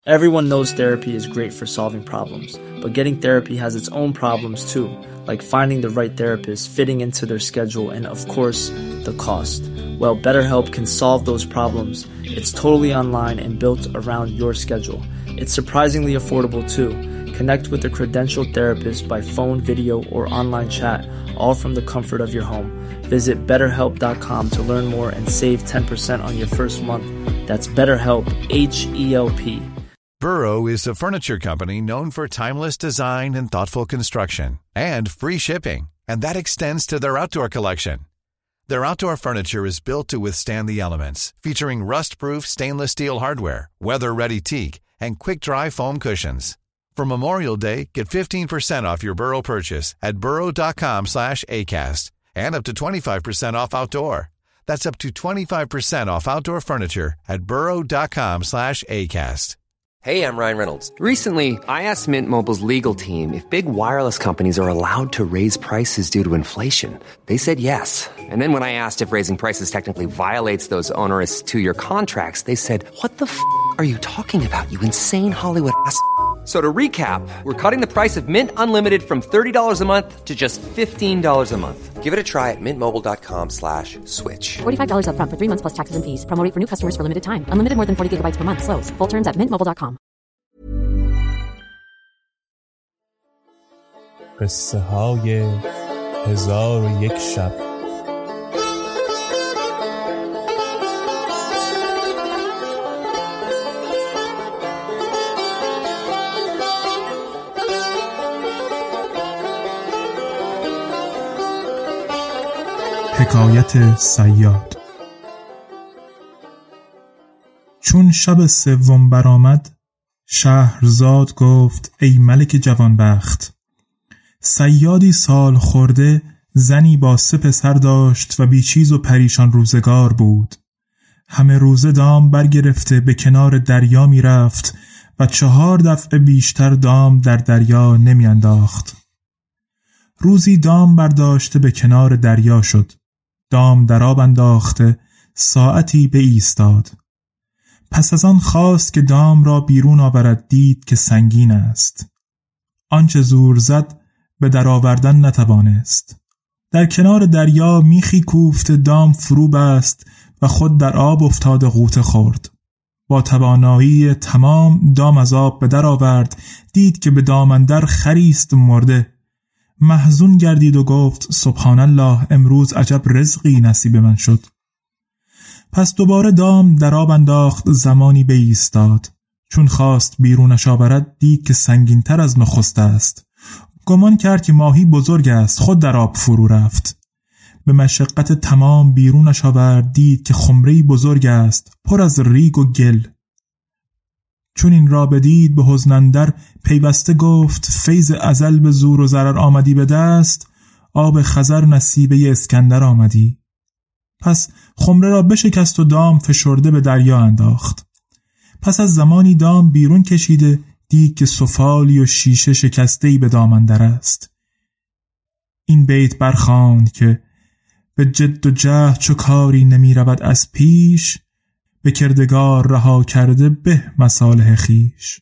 Everyone knows therapy is great for solving problems, but getting therapy has its own problems too, like finding the right therapist, fitting into their schedule, and of course, the cost. Well, BetterHelp can solve those problems. It's totally online and built around your schedule. It's surprisingly affordable too. Connect with a credentialed therapist by phone, video, or online chat, all from the comfort of your home. Visit BetterHelp.com to learn more and save 10% on your first month. That's BetterHelp, H-E-L-P. Burrow is a furniture company known for timeless design and thoughtful construction, and free shipping, and that extends to their outdoor collection. Their outdoor furniture is built to withstand the elements, featuring rust-proof stainless steel hardware, weather-ready teak, and quick-dry foam cushions. For Memorial Day, get 15% off your Burrow purchase at burrow.com/ACAST and up to 25% off outdoor. That's up to 25% off outdoor furniture at burrow.com/ACAST. Hey, I'm Ryan Reynolds. Recently, I asked Mint Mobile's legal team if big wireless companies are allowed to raise prices due to inflation. They said yes. And then when I asked if raising prices technically violates those onerous 2-year contracts, they said, "What the are you talking about, you insane Hollywood ass?" So to recap, we're cutting the price of Mint Unlimited from $30 a month to just $15 a month. Give it a try at mintmobile.com/switch. $45 up front for 3 months plus taxes and fees. Promo rate for new customers for limited time. Unlimited more than 40 gigabytes per month. Slows full terms at mintmobile.com. قصه های 1001 شب. حکایت صیاد. چون شب سوم برآمد، شهرزاد گفت ای ملک جوانبخت، صیادی سال خورده زنی با 3 پسر داشت و بیچیز و پریشان روزگار بود. همه روزه دام برگرفته به کنار دریا می رفت و 4 دفعه بیشتر دام در دریا نمی انداخت. روزی دام برداشته به کنار دریا شد. دام در آب انداخته ساعتی به ایستاد. پس از آن خواست که دام را بیرون آورد، دید که سنگین است. آنچه زور زد به در آوردن نتوانست. در کنار دریا میخی کوفت دام فرو بست و خود در آب افتاد غوطه خورد. با توانایی تمام دام از آب به در آورد، دید که به دام اندر خریست مرده. محزون گردید و گفت سبحان الله، امروز عجب رزقی نصیب من شد. پس دوباره دام در آب انداخت، زمانی بایستاد. چون خواست بیرونش آورد، دید که سنگین تر از نخست است. گمان کرد که ماهی بزرگ است، خود در آب فرو رفت. به مشقت تمام بیرونش آورد، دید که خمره‌ای بزرگ است، پر از ریگ و گل. چون این را بدید به حزن اندر پیوسته گفت فیض ازل به زور و ضرر آمدی به دست، آب خضر نصیبه اسکندر آمدی. پس خمره را بشکست و دام فشرده به دریا انداخت. پس از زمانی دام بیرون کشیده، دید که سفالی و شیشه شکسته‌ای به دام اندر است. این بیت برخواند که به جد و جهد چو کاری نمی رود از پیش، به کردگار رها کرده به مصالح خیش.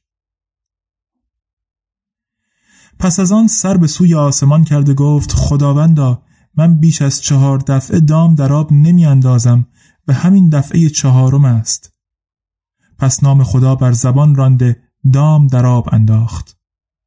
پس از آن سر به سوی آسمان کرده گفت خداوندا، من بیش از 4 دفعه دام در آب نمی اندازم، به همین دفعه 4م است. پس نام خدا بر زبان رانده دام در آب انداخت.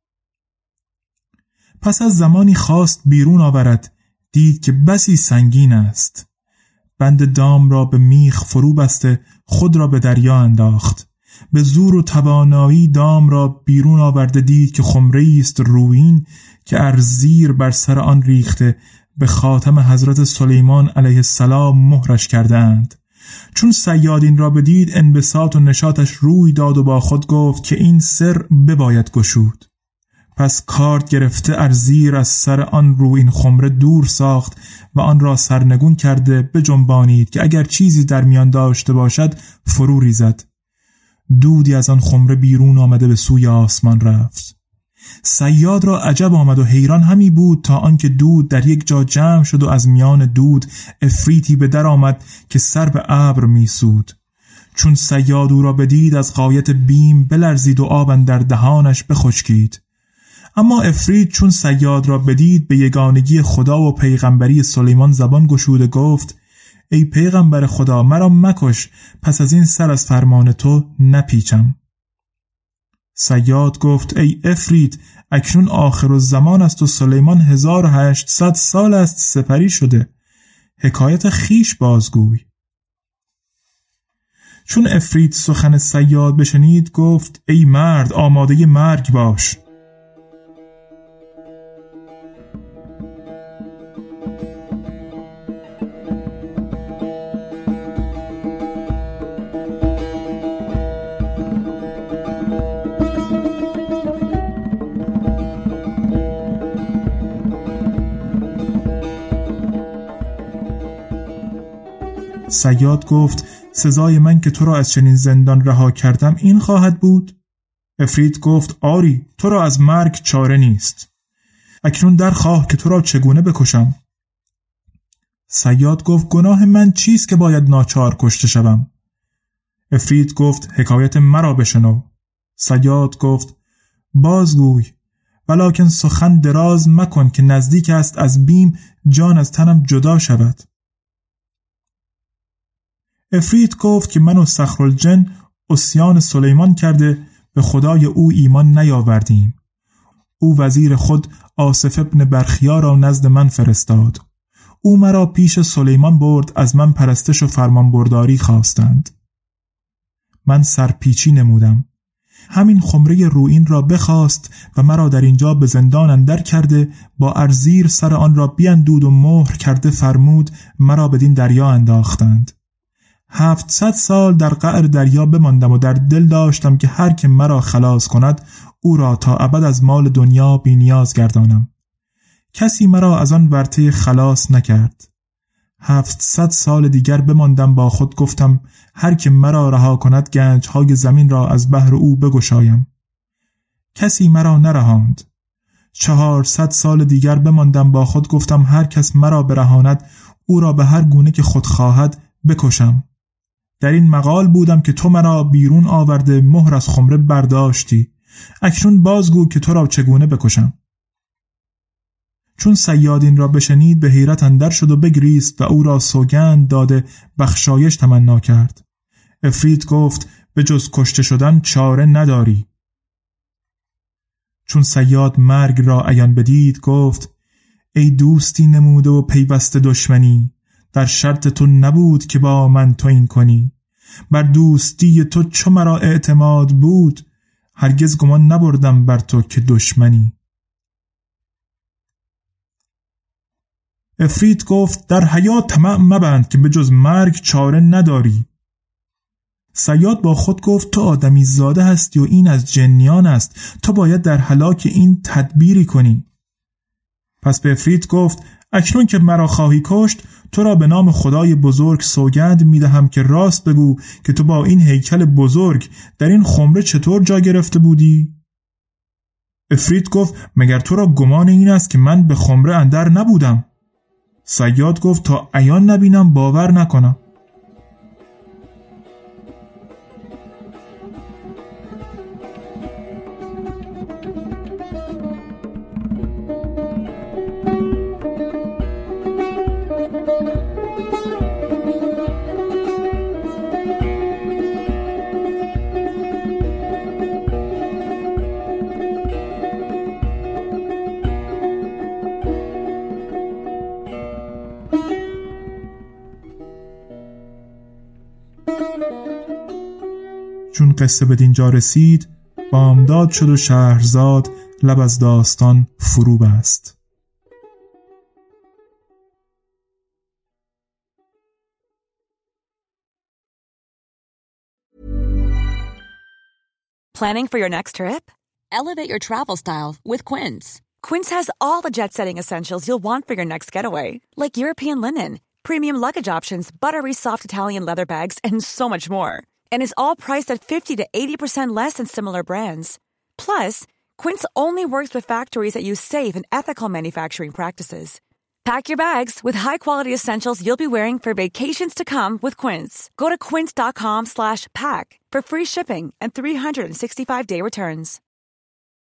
پس از زمانی خواست بیرون آورد، دید که بسی سنگین است. بند دام را به میخ فرو بسته خود را به دریا انداخت. به زور و توانایی دام را بیرون آورده، دید که خمره‌ای است رویین که ارزیر بر سر آن ریخته به خاتم حضرت سلیمان علیه السلام مهرش کردند. چون صیاد این را بدید، انبساط و نشاطش روی داد و با خود گفت که این سر بباید گشود. پس کارد گرفته ارزیر از سر آن رویین خمره دور ساخت و آن را سرنگون کرده بجنبانید که اگر چیزی در میان داشته باشد فرو ریزد. دودی از آن خمره بیرون آمده به سوی آسمان رفت. صیاد را عجب آمد و حیران همی بود تا آنکه دود در یک جا جمع شد و از میان دود افریتی به در آمد که سر به ابر میسود. چون صیاد او را بدید از غایت بیم بلرزید و آب اندر دهانش بخشکید. اما عفریت چون صیاد را بدید به یگانگی خدا و پیغمبری سلیمان زبان گشود و گفت ای پیغمبر خدا مرا مکش، پس از این سر از فرمان تو نپیچم. صیاد گفت ای عفریت اکنون آخر الزمان است و سلیمان 1800 سال است سپری شده، حکایت خیش بازگوی. چون عفریت سخن صیاد بشنید گفت ای مرد آماده مرگ باش. صیاد گفت سزای من که تو را از چنین زندان رها کردم این خواهد بود؟ عفریت گفت آری، تو را از مرگ چاره نیست. اکنون در خواه که تو را چگونه بکشم؟ صیاد گفت گناه من چیست که باید ناچار کشته شوم؟ عفریت گفت حکایت مرا بشنو. صیاد گفت بازگوی، ولکن سخن دراز مکن که نزدیک است از بیم جان از تنم جدا شود. عفریت گفت که من و صخرالجن عصیان سلیمان کرده به خدای او ایمان نیاوردیم. او وزیر خود آصف ابن برخیا را نزد من فرستاد. او مرا پیش سلیمان برد، از من پرستش و فرمانبرداری خواستند. من سرپیچی نمودم. همین خمره رویین را بخواست و مرا در اینجا به زندان اندر کرده، با ارزیر سر آن را بیندود و مهر کرده فرمود مرا بدین دریا انداختند. 700 سال در قعر دریا بماندم و در دل داشتم که هر که مرا خلاص کند او را تا ابد از مال دنیا بی نیاز گردانم. کسی مرا از آن ورطه خلاص نکرد. 700 سال دیگر بماندم، با خود گفتم هر که مرا رها کند گنج‌های زمین را از بحر او بگشایم. کسی مرا نرهاند. 400 سال دیگر بماندم، با خود گفتم هر کس مرا برهاند او را به هر گونه که خود خواهد بکشم. در این مقال بودم که تو مرا بیرون آورده مهر از خمره برداشتی. اکنون بازگو که تو را چگونه بکشم. چون صیاد این را بشنید به حیرت اندر شد و بگریست و او را سوگند داده بخشایش تمنا کرد. عفریت گفت به جز کشته شدن چاره نداری. چون صیاد مرگ را عیان بدید گفت ای دوستی نموده و پیوسته دشمنی، در شرط تو نبود که با من تو این کنی. بر دوستی تو چو مرا اعتماد بود، هرگز گمان نبردم بر تو که دشمنی. عفریت گفت در حیات طمع مبند که به جز مرگ چاره نداری. صیاد با خود گفت تو آدمی زاده هستی و این از جنیان است، تو باید در هلاک این تدبیری کنی. پس به عفریت گفت اکنون که مرا خواهی کشت تو را به نام خدای بزرگ سوگند میدهم که راست بگو که تو با این هیکل بزرگ در این خمره چطور جا گرفته بودی؟ عفریت گفت مگر تو را گمان این است که من به خمره اندر نبودم؟ صیاد گفت تا عیان نبینم باور نکنم. چون قصه به دینجا رسید بامداد شد و شهرزاد لب از داستان فرو بست. Planning for your next trip? Elevate your travel style with Quince. Quince has all the jet-setting essentials you'll want for your next getaway, like European linen, premium luggage options, buttery soft Italian leather bags, and so much more. And is all priced at 50 to 80% less than similar brands. Plus, Quince only works with factories that use safe and ethical manufacturing practices. Pack your bags with high-quality essentials you'll be wearing for vacations to come with Quince. Go to quince.com/pack for free shipping and 365-day returns.